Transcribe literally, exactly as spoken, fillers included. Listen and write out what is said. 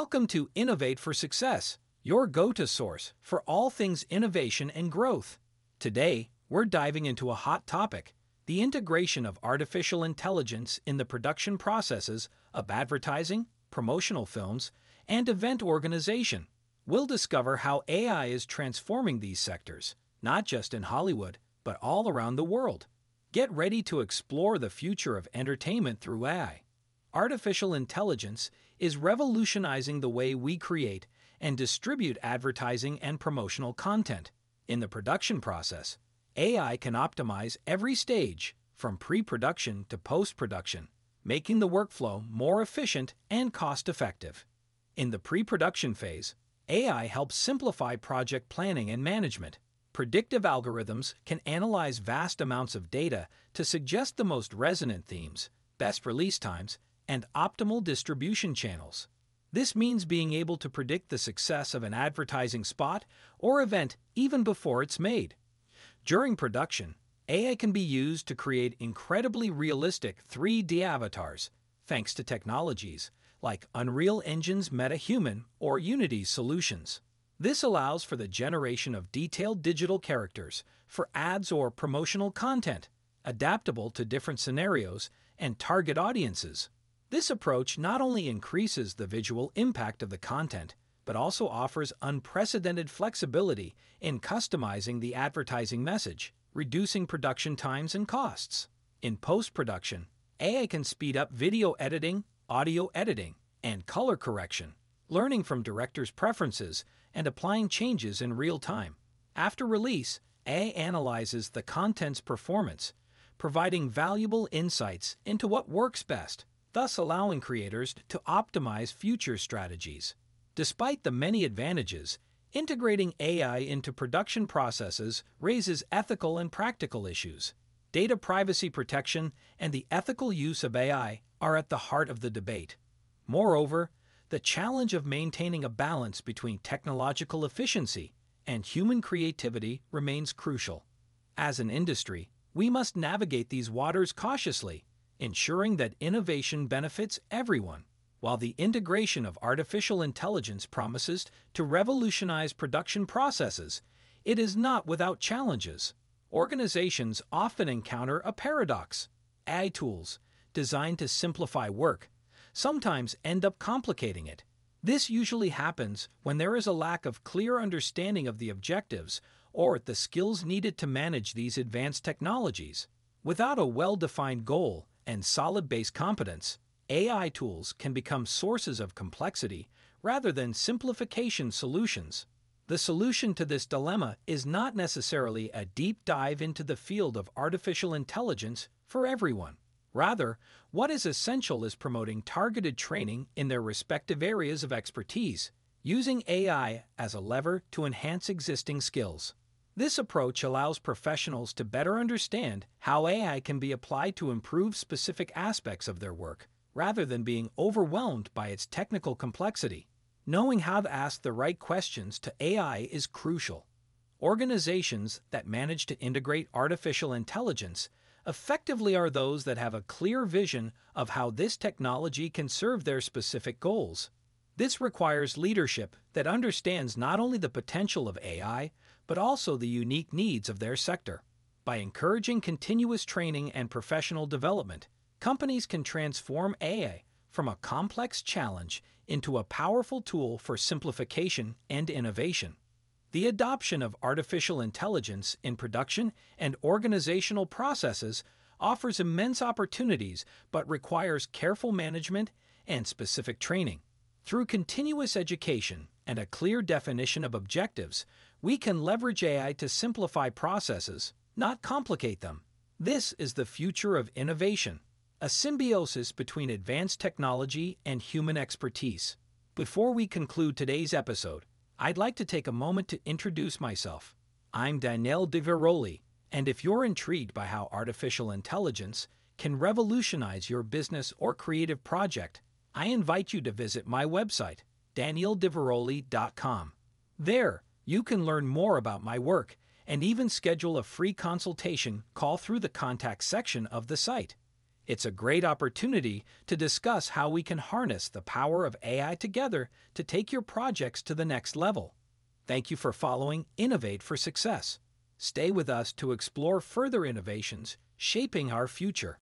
Welcome to Innovate for Success, your go-to source for all things innovation and growth. Today, we're diving into a hot topic, the integration of artificial intelligence in the production processes of advertising, promotional films, and event organization. We'll discover how A I is transforming these sectors, not just in Hollywood, but all around the world. Get ready to explore the future of entertainment through A I. Artificial intelligence is revolutionizing the way we create and distribute advertising and promotional content. In the production process, A I can optimize every stage, from pre-production to post-production, making the workflow more efficient and cost-effective. In the pre-production phase, A I helps simplify project planning and management. Predictive algorithms can analyze vast amounts of data to suggest the most resonant themes, best release times, and optimal distribution channels. This means being able to predict the success of an advertising spot or event even before it's made. During production, A I can be used to create incredibly realistic three D avatars, thanks to technologies like Unreal Engine's MetaHuman or Unity's solutions. This allows for the generation of detailed digital characters for ads or promotional content, adaptable to different scenarios and target audiences. This approach not only increases the visual impact of the content, but also offers unprecedented flexibility in customizing the advertising message, reducing production times and costs. In post-production, A I can speed up video editing, audio editing, and color correction, learning from directors' preferences and applying changes in real time. After release, A I analyzes the content's performance, providing valuable insights into what works best, thus allowing creators to optimize future strategies. Despite the many advantages, integrating A I into production processes raises ethical and practical issues. Data privacy protection and the ethical use of A I are at the heart of the debate. Moreover, the challenge of maintaining a balance between technological efficiency and human creativity remains crucial. As an industry, we must navigate these waters cautiously, ensuring that innovation benefits everyone. While the integration of artificial intelligence promises to revolutionize production processes, it is not without challenges. Organizations often encounter a paradox. A I tools, designed to simplify work, sometimes end up complicating it. This usually happens when there is a lack of clear understanding of the objectives or the skills needed to manage these advanced technologies. Without a well-defined goal and solid base competence, A I tools can become sources of complexity rather than simplification solutions. The solution to this dilemma is not necessarily a deep dive into the field of artificial intelligence for everyone. Rather, what is essential is promoting targeted training in their respective areas of expertise, using A I as a lever to enhance existing skills. This approach allows professionals to better understand how A I can be applied to improve specific aspects of their work, rather than being overwhelmed by its technical complexity. Knowing how to ask the right questions to A I is crucial. Organizations that manage to integrate artificial intelligence effectively are those that have a clear vision of how this technology can serve their specific goals. This requires leadership that understands not only the potential of A I, but also the unique needs of their sector. By encouraging continuous training and professional development, companies can transform A I from a complex challenge into a powerful tool for simplification and innovation. The adoption of artificial intelligence in production and organizational processes offers immense opportunities but requires careful management and specific training. Through continuous education and a clear definition of objectives, we can leverage A I to simplify processes, not complicate them. This is the future of innovation, a symbiosis between advanced technology and human expertise. Before we conclude today's episode, I'd like to take a moment to introduce myself. I'm Daniel DiVeroli, and if you're intrigued by how artificial intelligence can revolutionize your business or creative project, I invite you to visit my website, daniel diveroli dot com. There, you can learn more about my work and even schedule a free consultation call through the contact section of the site. It's a great opportunity to discuss how we can harness the power of A I together to take your projects to the next level. Thank you for following Innovate for Success. Stay with us to explore further innovations shaping our future.